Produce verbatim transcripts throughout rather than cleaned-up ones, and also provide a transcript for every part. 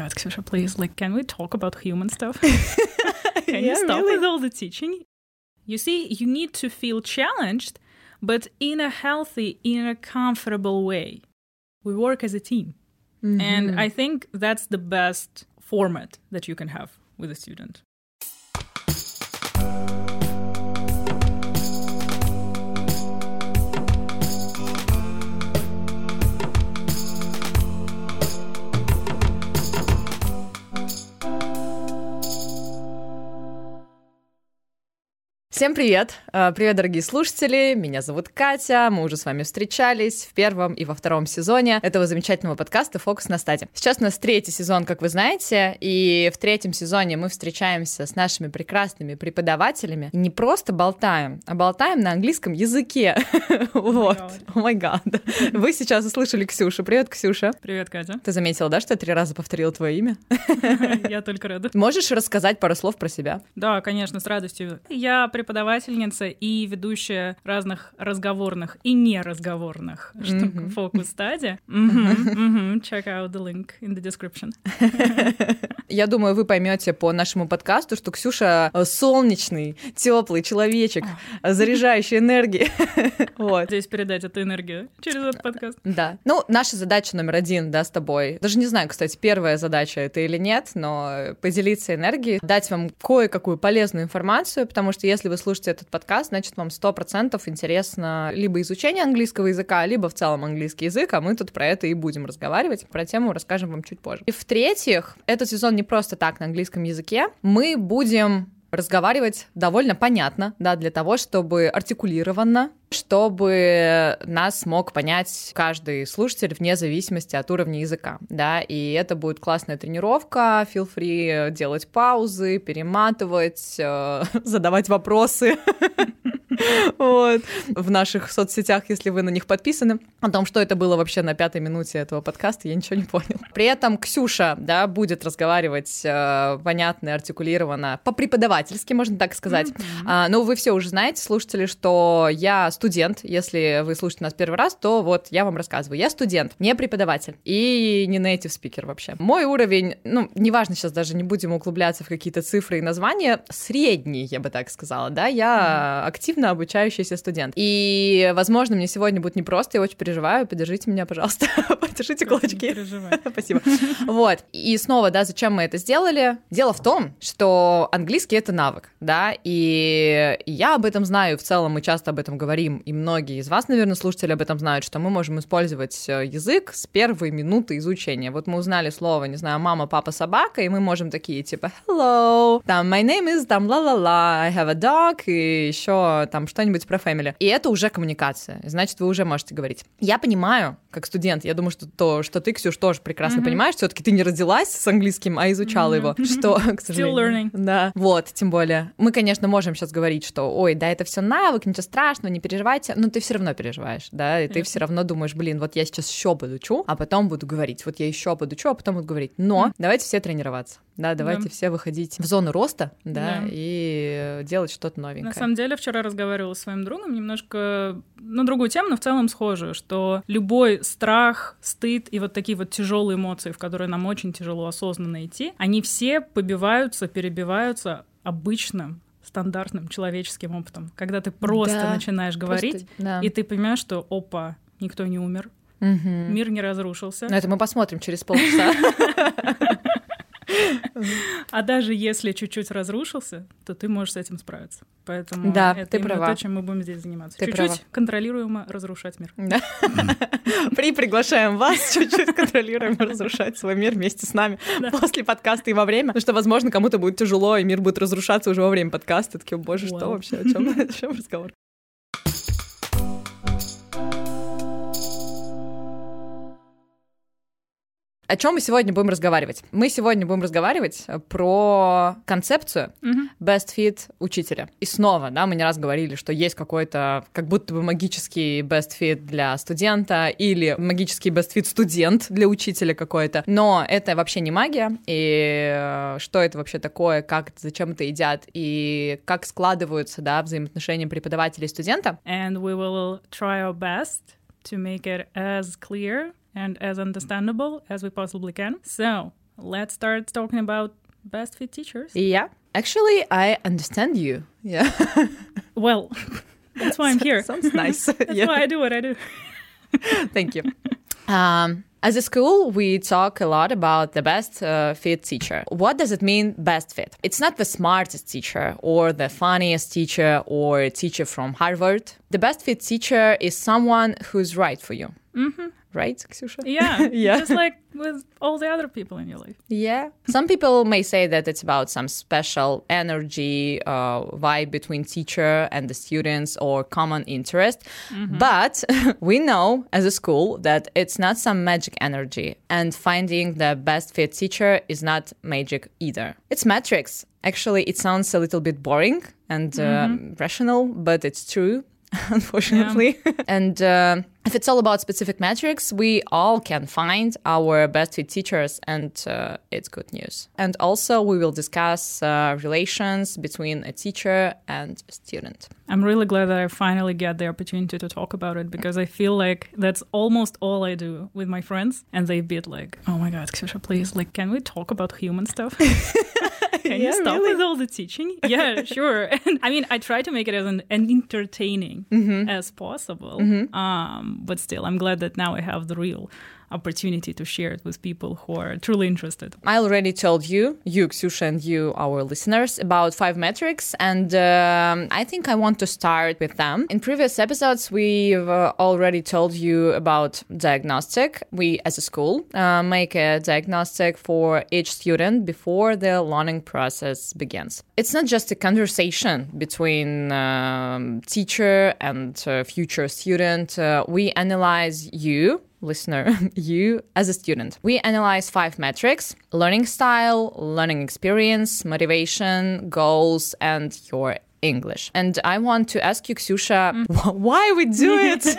minutes, Ksyusha, please. Like, can we talk about human stuff? Can yeah, you stop really? with all the teaching? You see, you need to feel challenged, but in a healthy, in a comfortable way. We work as a team. Mm-hmm. And I think that's the best format that you can have with a student. Всем привет! Привет, дорогие слушатели! Меня зовут Катя, мы уже с вами встречались в первом и во втором сезоне этого замечательного подкаста «Фокус на стаде». Сейчас у нас третий сезон, как вы знаете, и в третьем сезоне мы встречаемся с нашими прекрасными преподавателями и не просто болтаем, а болтаем на английском языке. Вот. О май гад. Вы сейчас услышали Ксюшу. Привет, Ксюша. Привет, Катя. Ты заметила, да, что я три раза повторила твое имя? Я только рада. Можешь рассказать пару слов про себя? Да, конечно, с радостью. Я преподаватель преподавательница и ведущая разных разговорных и неразговорных штук в фокус-стаде. Check out the link in the description. Я думаю, вы поймете по нашему подкасту, что Ксюша солнечный, теплый человечек, заряжающий энергией. Вот. Здесь передать эту энергию через этот подкаст. Да. Ну, наша задача номер один, да, с тобой. Даже не знаю, кстати, первая задача это или нет, но поделиться энергией, дать вам кое-какую полезную информацию, потому что если вы слушаете этот подкаст, значит, вам сто процентов интересно либо изучение английского языка, либо в целом английский язык, а мы тут про это и будем разговаривать. Про тему расскажем вам чуть позже. И в-третьих, этот сезон не просто так на английском языке. Мы будем разговаривать довольно понятно, да, для того, чтобы артикулированно, чтобы нас мог понять каждый слушатель вне зависимости от уровня языка, да, и это будет классная тренировка, feel free делать паузы, перематывать, э, задавать вопросы. Вот. В наших соцсетях, если вы на них подписаны, о том, что это было вообще на пятой минуте этого подкаста, я ничего не понял. При этом Ксюша, да, будет разговаривать э, понятно и артикулированно, по-преподавательски, можно так сказать. Mm-hmm. А, ну, вы все уже знаете, слушатели, что я студент. Если вы слушаете нас первый раз, то вот я вам рассказываю. Я студент, не преподаватель и не native speaker вообще. Мой уровень, ну, неважно, сейчас даже не будем углубляться в какие-то цифры и названия, средний, я бы так сказала, да, я mm-hmm. активно обучающийся студент. И, возможно, мне сегодня будет непросто, я очень переживаю, поддержите меня, пожалуйста, подержите кулачки. Не переживай. Спасибо. Вот. И снова, да, зачем мы это сделали? Дело в том, что английский — это навык, да, и я об этом знаю, в целом мы часто об этом говорим, и многие из вас, наверное, слушатели об этом знают, что мы можем использовать язык с первой минуты изучения. Вот мы узнали слово, не знаю, мама, папа, собака, и мы можем такие, типа, hello, там, my name is, там, ла-ла-ла, I have a dog, и еще там что-нибудь про family. И это уже коммуникация, значит, вы уже можете говорить. Я понимаю, как студент, я думаю, что то, что ты, Ксюш, тоже прекрасно mm-hmm. понимаешь, все-таки ты не родилась с английским, а изучала mm-hmm. его, что, к сожалению... Still learning. Да, вот, тем более. Мы, конечно, можем сейчас говорить, что, ой, да, это все навык, ничего страшного, не переживайте, но ты все равно переживаешь, да, и ты все равно думаешь, блин, вот я сейчас еще подучу, а потом буду говорить, вот я еще подучу, а потом буду говорить. Но mm-hmm. давайте все тренироваться. Да, давайте да. все выходить в зону роста, да, да, и делать что-то новенькое. На самом деле, вчера разговаривала с своим другом немножко на другую тему, но в целом схожую, что любой страх, стыд и вот такие вот тяжелые эмоции, в которые нам очень тяжело осознанно идти, они все побиваются, перебиваются обычным, стандартным человеческим опытом. Когда ты просто да, начинаешь говорить, просто, да. и ты понимаешь, что опа, никто не умер, угу. мир не разрушился. Но это мы посмотрим через полчаса. А даже если чуть-чуть разрушился, то ты можешь с этим справиться. Поэтому да, это ты именно права. то, чем мы будем здесь заниматься. Ты чуть-чуть права. Контролируемо разрушать мир. Да. При приглашаем вас чуть-чуть контролируемо разрушать свой мир вместе с нами да. после подкаста и во время, потому что, возможно, кому-то будет тяжело, и мир будет разрушаться уже во время подкаста. Такие, боже, wow. что вообще, о чем, о чем разговор? О чем мы сегодня будем разговаривать? Мы сегодня будем разговаривать про концепцию mm-hmm. best fit учителя. И снова, да, мы не раз говорили, что есть какой-то как будто бы магический best fit для студента или магический best fit студент для учителя какой-то. Но это вообще не магия. И что это вообще такое, как, зачем это едят, и как складываются, да, взаимоотношения преподавателя и студента. And we will try our best to make it as clear and as understandable as we possibly can. So, let's start talking about best fit teachers. Yeah. Actually, I understand you. Yeah. Well, that's why I'm here. Sounds nice. That's Yeah. why I do what I do. Thank you. Um, as a school, we talk a lot about the best uh, fit teacher. What does it mean, best fit? It's not the smartest teacher or the funniest teacher or a teacher from Harvard. The best fit teacher is someone who's right for you. Mm-hmm. Right, Ksyusha? Yeah, Yeah. just like with all the other people in your life. Yeah. Some people may say that it's about some special energy, uh, vibe between teacher and the students or common interest. Mm-hmm. But we know as a school that it's not some magic energy. And finding the best fit teacher is not magic either. It's metrics. Actually, it sounds a little bit boring and mm-hmm. um, rational, but it's true. Unfortunately. Yeah. And uh, if it's all about specific metrics, we all can find our best fit teachers, and uh, it's good news. And also, we will discuss uh, relations between a teacher and a student. I'm really glad that I finally get the opportunity to talk about it, because I feel like that's almost all I do with my friends. And they be like, oh my God, Ksyusha, please, like, can we talk about human stuff? Can yeah, you stop really? with all the teaching? Yeah, sure. And I mean, I try to make it as an, an entertaining mm-hmm. as possible. Mm-hmm. Um, but still, I'm glad that now I have the real opportunity to share it with people who are truly interested. I already told you, you, Ksyusha, and you, our listeners, about five metrics, and um, I think I want to start with them. In previous episodes, we've uh, already told you about diagnostic. We, as a school, uh, make a diagnostic for each student before the learning process begins. It's not just a conversation between um, teacher and uh, future student. Uh, we analyze you, listener, you as a student. We analyze five metrics: learning style, learning experience, motivation, goals, and your English. And I want to ask you, Ksyusha, mm. why we do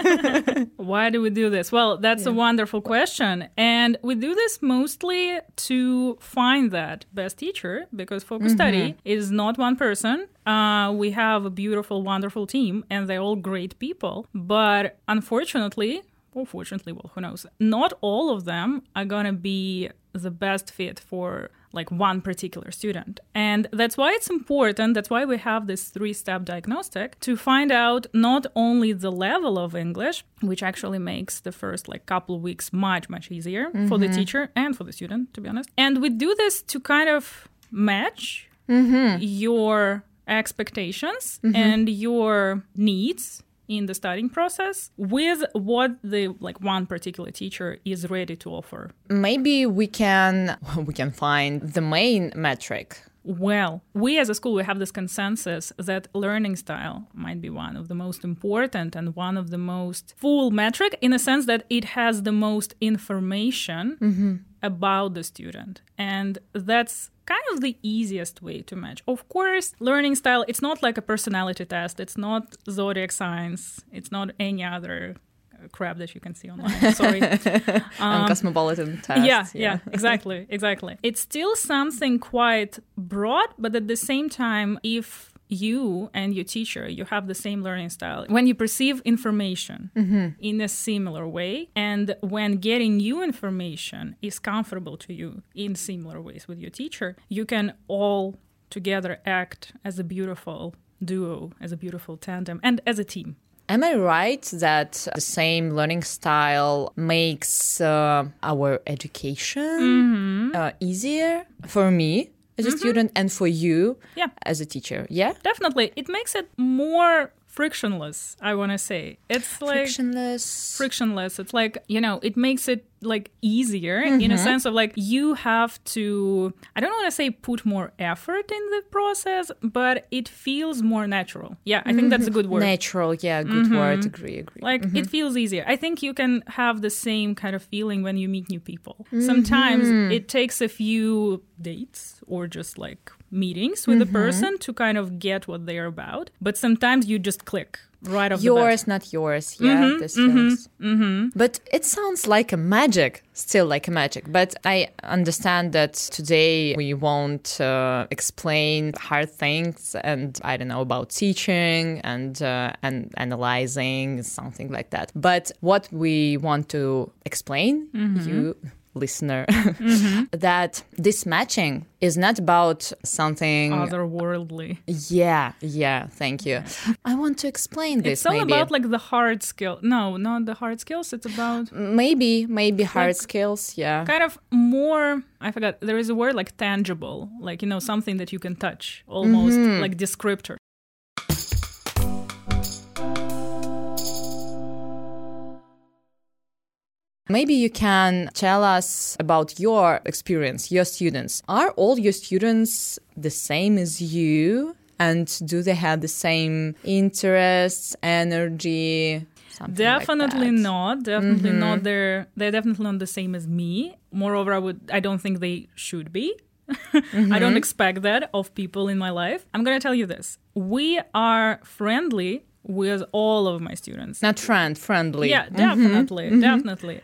it? Why do we do this? Well, that's yeah. a wonderful question. And we do this mostly to find that best teacher, because Focus mm-hmm. Study is not one person. Uh, we have a beautiful, wonderful team, and they're all great people. But unfortunately, or fortunately, well, who knows? Not all of them are going to be the best fit for like one particular student. And that's why it's important. That's why we have this three-step diagnostic to find out not only the level of English, which actually makes the first like couple of weeks much, much easier mm-hmm. for the teacher and for the student, to be honest. And we do this to kind of match mm-hmm. your expectations mm-hmm. and your needs in the studying process with what the like one particular teacher is ready to offer. Maybe we can we can find the main metric. Well, we as a school, we have this consensus that learning style might be one of the most important and one of the most full metric, in a sense that it has the most information mm-hmm. about the student. And that's kind of the easiest way to match. Of course, learning style, it's not like a personality test. It's not zodiac signs. It's not any other crap that you can see online. Sorry. um, cosmopolitan test. Yeah, yeah, yeah, exactly, exactly. It's still something quite broad, but at the same time, if you and your teacher, you have the same learning style, when you perceive information mm-hmm. in a similar way, and when getting new information is comfortable to you in similar ways with your teacher, you can all together act as a beautiful duo, as a beautiful tandem, and as a team. Am I right that the same learning style makes uh, our education mm-hmm. uh, easier for me as a mm-hmm. student and for you yeah. as a teacher? Yeah, definitely. It makes it more frictionless, I want to say. It's like frictionless. Frictionless. It's like, you know, it makes it like easier mm-hmm. in a sense of like you have to, I don't want to say put more effort in the process, but it feels more natural. Yeah, I think that's a good word. Natural, yeah, good mm-hmm. word. Agree, agree. Like mm-hmm. it feels easier. I think you can have the same kind of feeling when you meet new people. Mm-hmm. Sometimes it takes a few dates or just like meetings with mm-hmm. a person to kind of get what they're about. But sometimes you just click right off yours, the bat. Not yours. Yeah, mm-hmm, this mm-hmm, feels. Mm-hmm. But it sounds like a magic, still like a magic. But I understand that today we won't uh, explain hard things and I don't know about teaching and uh, and analyzing, something like that. But what we want to explain, mm-hmm. you listener, Mm-hmm. that this matching is not about something Otherworldly. Yeah, yeah, thank you. I want to explain this. It's all maybe. about like the hard skill. No, not the hard skills. It's about maybe, maybe hard Like- skills. Yeah. kind of more, I forgot, there is a word like tangible, like, you know, something that you can touch, almost Mm-hmm. like descriptor. Maybe you can tell us about your experience, your students. Are all your students the same as you? And do they have the same interests, energy? Something Definitely like that? not. Definitely Mm-hmm. not. They're they're definitely not the same as me. Moreover, I would I don't think they should be. Mm-hmm. I don't expect that of people in my life. I'm gonna tell you this. We are friendly with all of my students. Not friend, friendly. Yeah, definitely, definitely.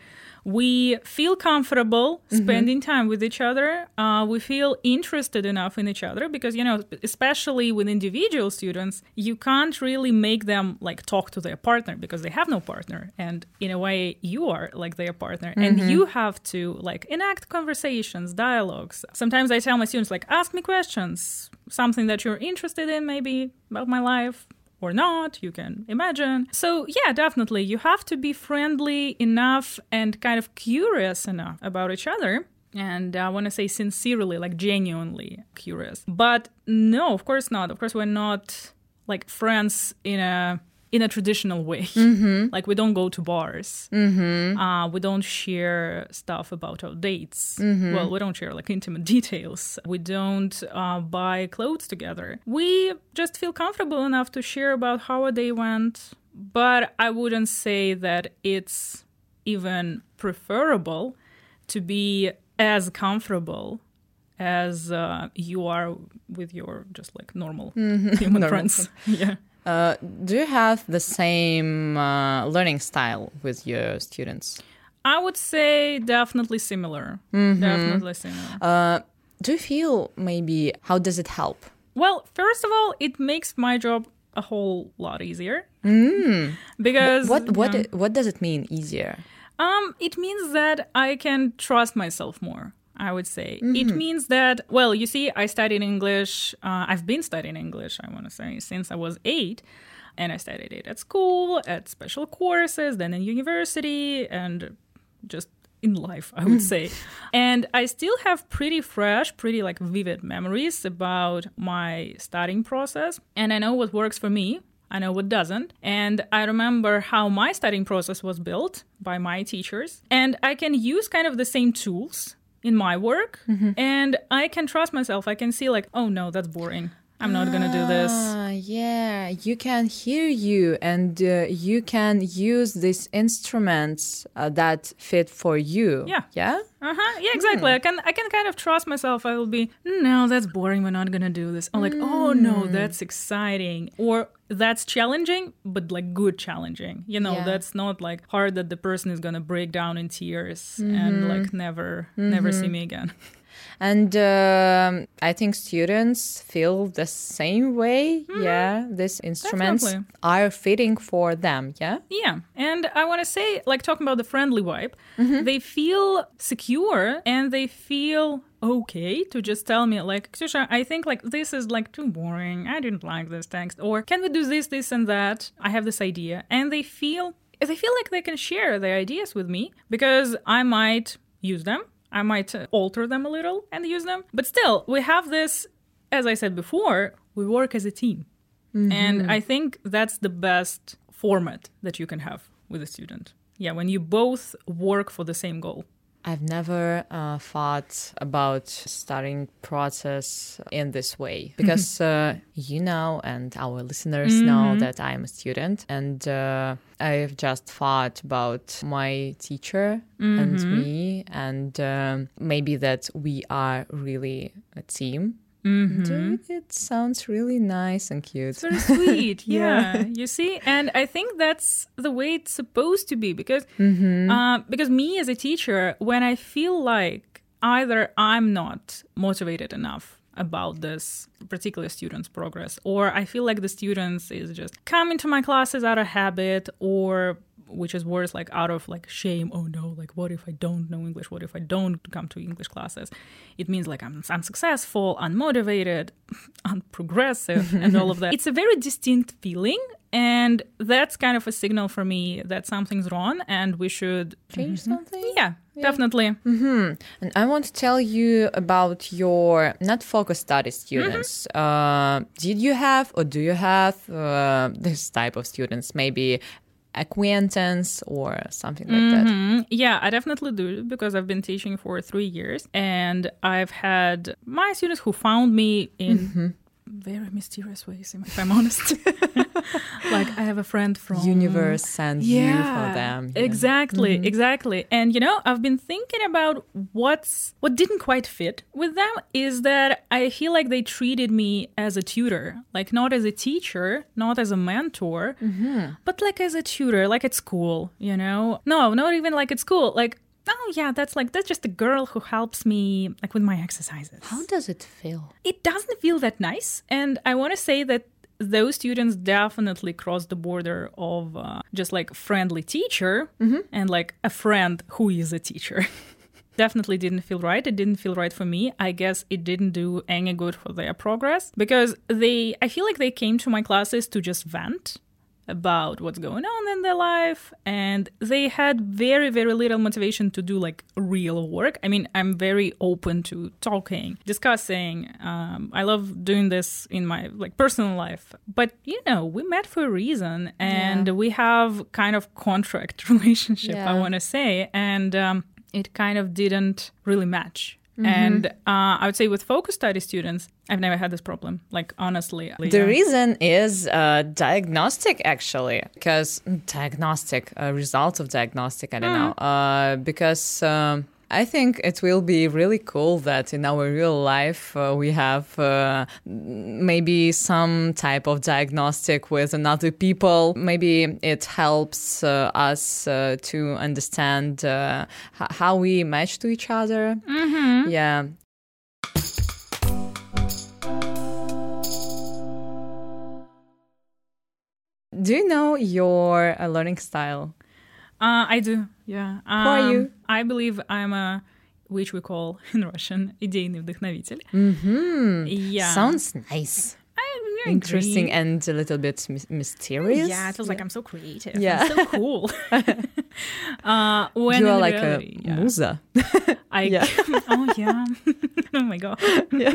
We feel comfortable spending time with each other. Uh, we feel interested enough in each other because, you know, especially with individual students, you can't really make them like talk to their partner because they have no partner. And in a way, you are like their partner. And you have to like enact conversations, dialogues. Sometimes I tell my students, like, ask me questions, something that you're interested in, maybe about my life. Or not, you can imagine. So yeah, definitely, you have to be friendly enough and kind of curious enough about each other. And I want to say sincerely, like genuinely curious. But no, of course not. Of course, we're not like friends in a in a traditional way. Mm-hmm. Like we don't go to bars. Mm-hmm. Uh, we don't share stuff about our dates. Mm-hmm. Well, we don't share like intimate details. We don't uh, buy clothes together. We just feel comfortable enough to share about how our day went. But I wouldn't say that it's even preferable to be as comfortable as uh, you are with your just like normal mm-hmm. human Normal. friends. Yeah. Uh, do you have the same uh, learning style with your students? I would say definitely similar. Mm-hmm. Definitely similar. Uh, do you feel maybe how does it help? Well, first of all, it makes my job a whole lot easier. Mm. Because What what you know, what does it mean easier? um, it means that I can trust myself more. I would say. Mm-hmm. It means that, well, you see, I studied English. Uh, I've been studying English, I want to say, since I was eight. And I studied it at school, at special courses, then in university, and just in life, I would say. And I still have pretty fresh, pretty like vivid memories about my studying process. And I know what works for me. I know what doesn't. And I remember how my studying process was built by my teachers. And I can use kind of the same tools in my work, mm-hmm. and I can trust myself. I can see like, oh no, that's boring. I'm not gonna do this. Ah, yeah, you can hear you, and uh, you can use these instruments uh, that fit for you. Yeah. Yeah. Uh huh. Yeah, exactly. Mm. I can I can kind of trust myself. I will be, no, that's boring. We're not gonna do this. I'm like, mm. oh no, that's exciting, or that's challenging, but like good challenging. You know, yeah. that's not like hard that the person is gonna break down in tears mm-hmm. and like never mm-hmm. never see me again. And um, I think students feel the same way. Mm-hmm. Yeah, these instruments Definitely. Are fitting for them. Yeah. Yeah. And I want to say, like talking about the friendly vibe, mm-hmm. they feel secure and they feel okay to just tell me like, Ksyusha, I think like this is like too boring. I didn't like this text. Or can we do this, this and that? I have this idea. And they feel, they feel like they can share their ideas with me because I might use them. I might alter them a little and use them. But still, we have this, as I said before, we work as a team. Mm-hmm. And I think that's the best format that you can have with a student. Yeah, when you both work for the same goal. I've never uh, thought about studying process in this way because uh, you know, and our listeners mm-hmm. know that I'm a student, and uh, I've just thought about my teacher mm-hmm. and me, and um, maybe that we are really a team. Mm-hmm. It sounds really nice and cute. It's very sweet, yeah. yeah. You see, and I think that's the way it's supposed to be because, mm-hmm. uh, because me as a teacher, when I feel like either I'm not motivated enough about this particular student's progress, or I feel like the students is just coming to my classes out of habit, or which is worse, like out of like shame. Oh no, like what if I don't know English? What if I don't come to English classes? It means like I'm unsuccessful, unmotivated, unprogressive, and all of that. It's a very distinct feeling. And that's kind of a signal for me that something's wrong and we should change mm-hmm. something. Yeah, yeah. definitely. Mm-hmm. And I want to tell you about your not focus study students. Mm-hmm. Uh, did you have or do you have uh, this type of students? Maybe acquaintance or something like mm-hmm. that? Yeah, I definitely do because I've been teaching for three years and I've had my students who found me in mm-hmm. very mysterious ways, if I'm honest. Like I have a friend from universe sent yeah, you for them. Yeah. Exactly, mm-hmm. exactly. And you know, I've been thinking about what's what didn't quite fit with them is that I feel like they treated me as a tutor, like not as a teacher, not as a mentor, mm-hmm. but like as a tutor, like at school, you know? No, not even like at school, like oh, yeah, that's like, that's just a girl who helps me like with my exercises. How does it feel? It doesn't feel that nice. And I want to say that those students definitely cross the border of uh, just like friendly teacher mm-hmm. and like a friend who is a teacher. Definitely didn't feel right. It didn't feel right for me. I guess it didn't do any good for their progress because they, I feel like they came to my classes to just vent about what's going on in their life, and they had very, very little motivation to do like real work. I mean, I'm very open to talking, discussing. Um, I love doing this in my like personal life, but you know, we met for a reason, and yeah. we have kind of contract relationship, yeah. I want to say, and um, it kind of didn't really match. Mm-hmm. And uh, I would say with focus study students, I've never had this problem, like honestly. The reason is uh, diagnostic, actually, because diagnostic, uh, result of diagnostic, I don't mm. know, uh, because um, I think it will be really cool that in our real life uh, we have uh, maybe some type of diagnostic with another people. Maybe it helps uh, us uh, to understand uh, h- how we match to each other. Mm-hmm. Yeah. Do you know your uh, learning style? Uh, I do, yeah. Um, Who are you? I believe I'm a, which we call in Russian, идейный вдохновитель. Mm-hmm. Yeah. Sounds nice. I Interesting agree. and a little bit my- mysterious. Yeah, it feels yeah. like I'm so creative. Yeah. I'm so cool. uh, when you are in like reality, a yeah. musa. I, yeah. oh, yeah. Oh, my God. Yeah.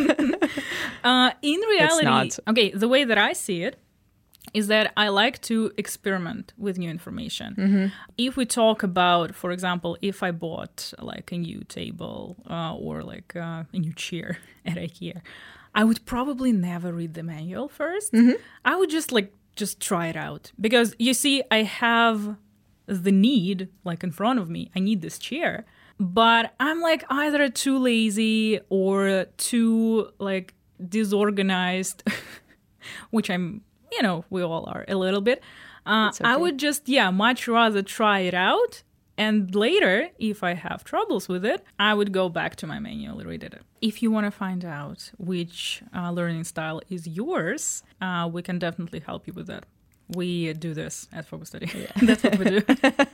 Uh, in reality, not. okay, the way that I see it is that I like to experiment with new information. Mm-hmm. If we talk about, for example, if I bought like a new table uh, or like uh, a new chair at IKEA, I would probably never read the manual first. Mm-hmm. I would just like, just try it out. Because you see, I have the need like in front of me. I need this chair. But I'm like either too lazy or too like disorganized, which I'm, you know, we all are a little bit. Uh, okay. I would just, yeah, much rather try it out. And later, if I have troubles with it, I would go back to my manual and read it. If you want to find out which uh, learning style is yours, uh, we can definitely help you with that. We do this at Focus Study. Yeah. That's what we do.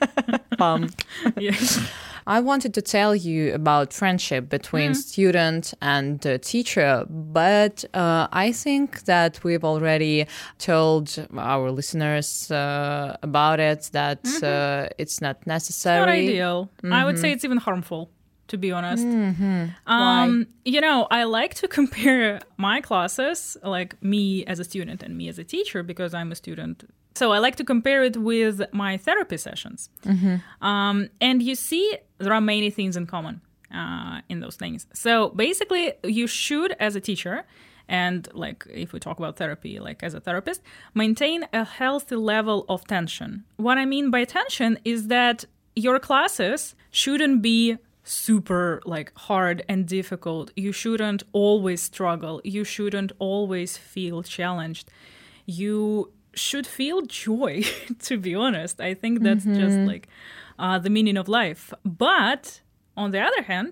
Um, yeah. I wanted to tell you about friendship between mm. student and uh, teacher, but uh, I think that we've already told our listeners uh, about it, that mm-hmm. uh, it's not necessary. It's not ideal. Mm-hmm. I would say it's even harmful, to be honest. Mm-hmm. Um, Why? You know, I like to compare my classes, like me as a student and me as a teacher, because I'm a student. So I like to compare it with my therapy sessions. Mm-hmm. Um, and you see, there are many things in common uh, in those things. So basically, you should, as a teacher, and like if we talk about therapy, like as a therapist, maintain a healthy level of tension. What I mean by tension is that your classes shouldn't be super like hard and difficult. You shouldn't always struggle. You shouldn't always feel challenged. You should feel joy, to be honest. I think that's mm-hmm. just like uh, the meaning of life. But on the other hand,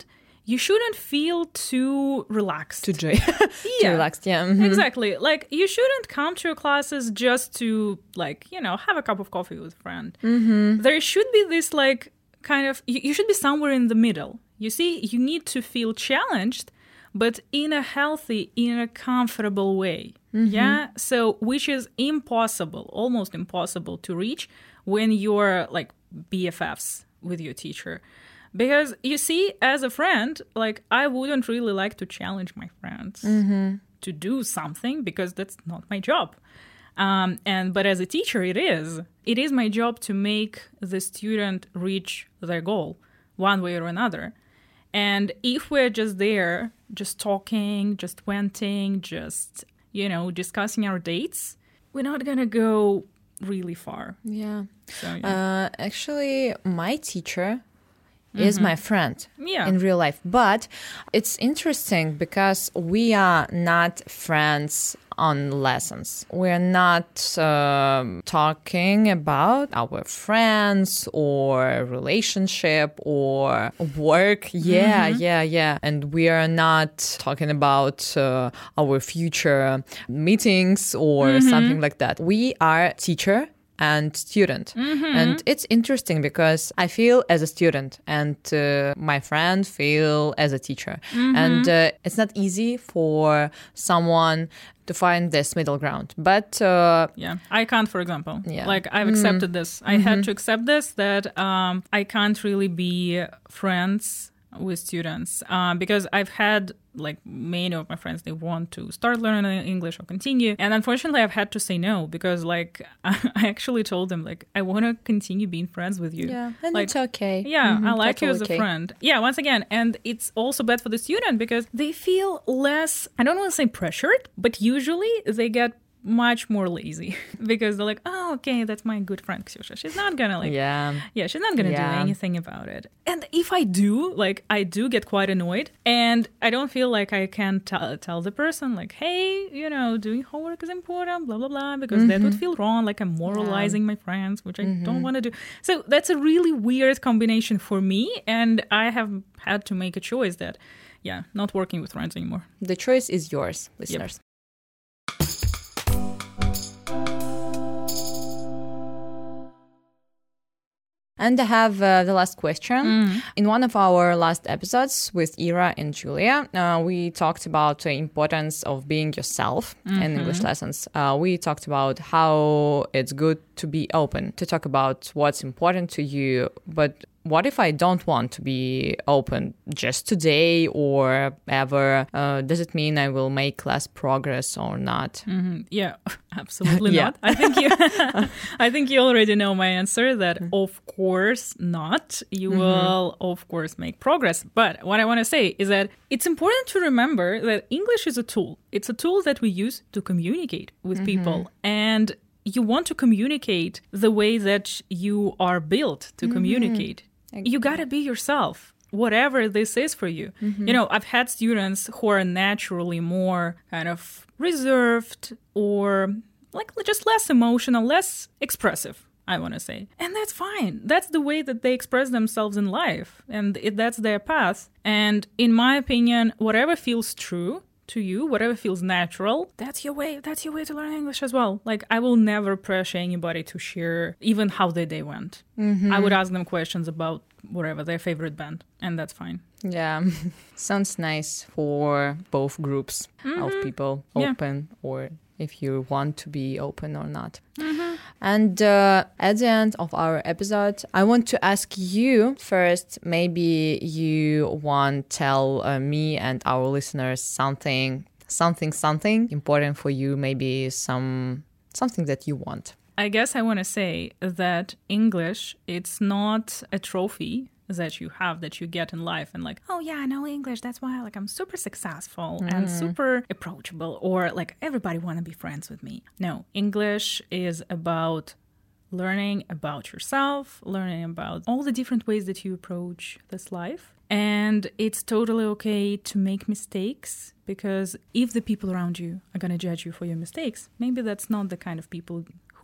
you shouldn't feel too relaxed. Too joy. Yeah. Too relaxed, yeah. Mm-hmm. Exactly. Like, you shouldn't come to your classes just to, like, you know, have a cup of coffee with a friend. Mm-hmm. There should be this, like, kind of, you, you should be somewhere in the middle. You see, you need to feel challenged, but in a healthy, in a comfortable way. Mm-hmm. Yeah? So, which is impossible, almost impossible to reach when you're, like, B F Fs with your teacher. Because, you see, as a friend, like, I wouldn't really like to challenge my friends mm-hmm. to do something because that's not my job. Um, and but as a teacher, it is. It is my job to make the student reach their goal one way or another. And if we're just there, just talking, just venting, just, you know, discussing our dates, we're not going to go really far. Yeah. So, yeah. Uh, actually, my teacher is mm-hmm. my friend yeah. in real life. But it's interesting because we are not friends on lessons. We're not um, talking about our friends or relationship or work. Yeah, mm-hmm. yeah, yeah. And we are not talking about uh, our future meetings or mm-hmm. something like that. We are teacher and student. Mm-hmm. And it's interesting because I feel as a student and uh, my friend feel as a teacher. Mm-hmm. And uh, it's not easy for someone to find this middle ground. But uh, yeah, I can't, for example. Yeah. Like, I've accepted mm-hmm. this. I mm-hmm. had to accept this, that um, I can't really be friends with students uh, because I've had, like, many of my friends, they want to start learning English or continue, and unfortunately I've had to say no because, like, I actually told them, like, I want to continue being friends with you. Yeah, and like, it's okay. Yeah, mm-hmm, I like totally you as okay. a friend. Yeah, once again, and it's also bad for the student because they feel less, I don't want to say pressured, but usually they get much more lazy because they're like, oh, okay, that's my good friend Ksyusha. She's not gonna like, yeah, yeah, she's not gonna yeah. do anything about it. And if I do, like, I do get quite annoyed, and I don't feel like I can t- tell the person, like, hey, you know, doing homework is important, blah blah blah, because mm-hmm. that would feel wrong. Like, I'm moralizing yeah. my friends, which I mm-hmm. don't want to do. So that's a really weird combination for me, and I have had to make a choice that, yeah, not working with friends anymore. The choice is yours, listeners. Yep. And I have uh, the last question. Mm. In one of our last episodes with Ira and Julia, uh, we talked about the importance of being yourself mm-hmm. in English lessons. Uh, we talked about how it's good to be open, to talk about what's important to you. But what if I don't want to be open just today or ever? Uh, does it mean I will make less progress or not? Mm-hmm. Yeah, absolutely yeah. not. I think you, I think you already know my answer. That of course not. You mm-hmm. will of course make progress. But what I want to say is that it's important to remember that English is a tool. It's a tool that we use to communicate with mm-hmm. people, and you want to communicate the way that you are built to mm-hmm. communicate. You got to be yourself, whatever this is for you. Mm-hmm. You know, I've had students who are naturally more kind of reserved or like just less emotional, less expressive, I want to say. And that's fine. That's the way that they express themselves in life. And it, that's their path. And in my opinion, whatever feels true to you, whatever feels natural, that's your way. That's your way to learn English as well. Like, I will never pressure anybody to share even how their day went. Mm-hmm. I would ask them questions about whatever, their favorite band, and that's fine. Yeah. Sounds nice for both groups mm-hmm. of people, open yeah. or if you want to be open or not. Mm-hmm. And uh, at the end of our episode, I want to ask you first, maybe you want to tell uh, me and our listeners something, something, something important for you, maybe some something that you want. I guess I want to say that English, it's not a trophy that you have, that you get in life and like, oh yeah, I know English, that's why like I'm super successful mm. and super approachable, or like everybody want to be friends with me. No, English is about learning about yourself, learning about all the different ways that you approach this life. And it's totally okay to make mistakes, because if the people around you are going to judge you for your mistakes, maybe that's not the kind of people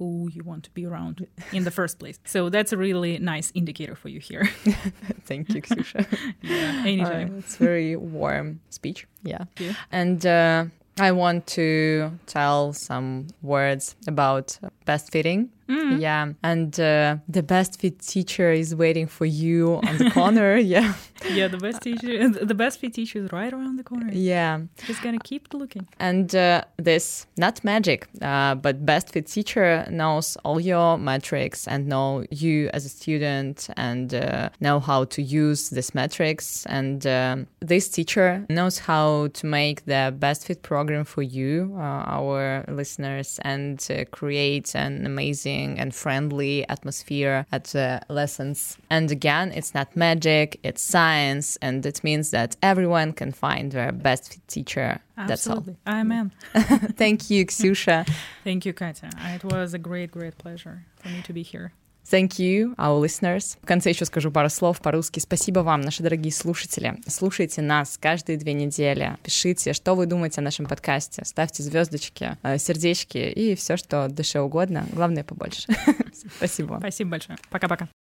who you want to be around in the first place. So that's a really nice indicator for you here. Thank you, Ksyusha. Yeah, anytime. Uh, it's very warm speech. Yeah. Yeah. And uh, I want to tell some words about best fitting. Mm. Yeah. And uh, the best fit teacher is waiting for you on the corner. Yeah. Yeah, the best teacher, the best fit teacher is right around the corner. Yeah. Just gonna keep looking. And uh, this, not magic, uh, but best fit teacher knows all your metrics and know you as a student and uh, know how to use these metrics. And uh, this teacher knows how to make the best fit program for you, uh, our listeners, and uh, create an amazing and friendly atmosphere at the lessons. And again, it's not magic, it's science, and it means that everyone can find their best fit teacher. Absolutely. That's all. Amen. Thank you, Ksyusha. Thank you, Katya. It was a great, great pleasure for me to be here. Thank you, our listeners. В конце еще скажу пару слов по-русски. Спасибо вам, наши дорогие слушатели. Слушайте нас каждые две недели. Пишите, что вы думаете о нашем подкасте. Ставьте звездочки, сердечки и все, что душе угодно. Главное, побольше. Спасибо. Спасибо большое. Пока-пока.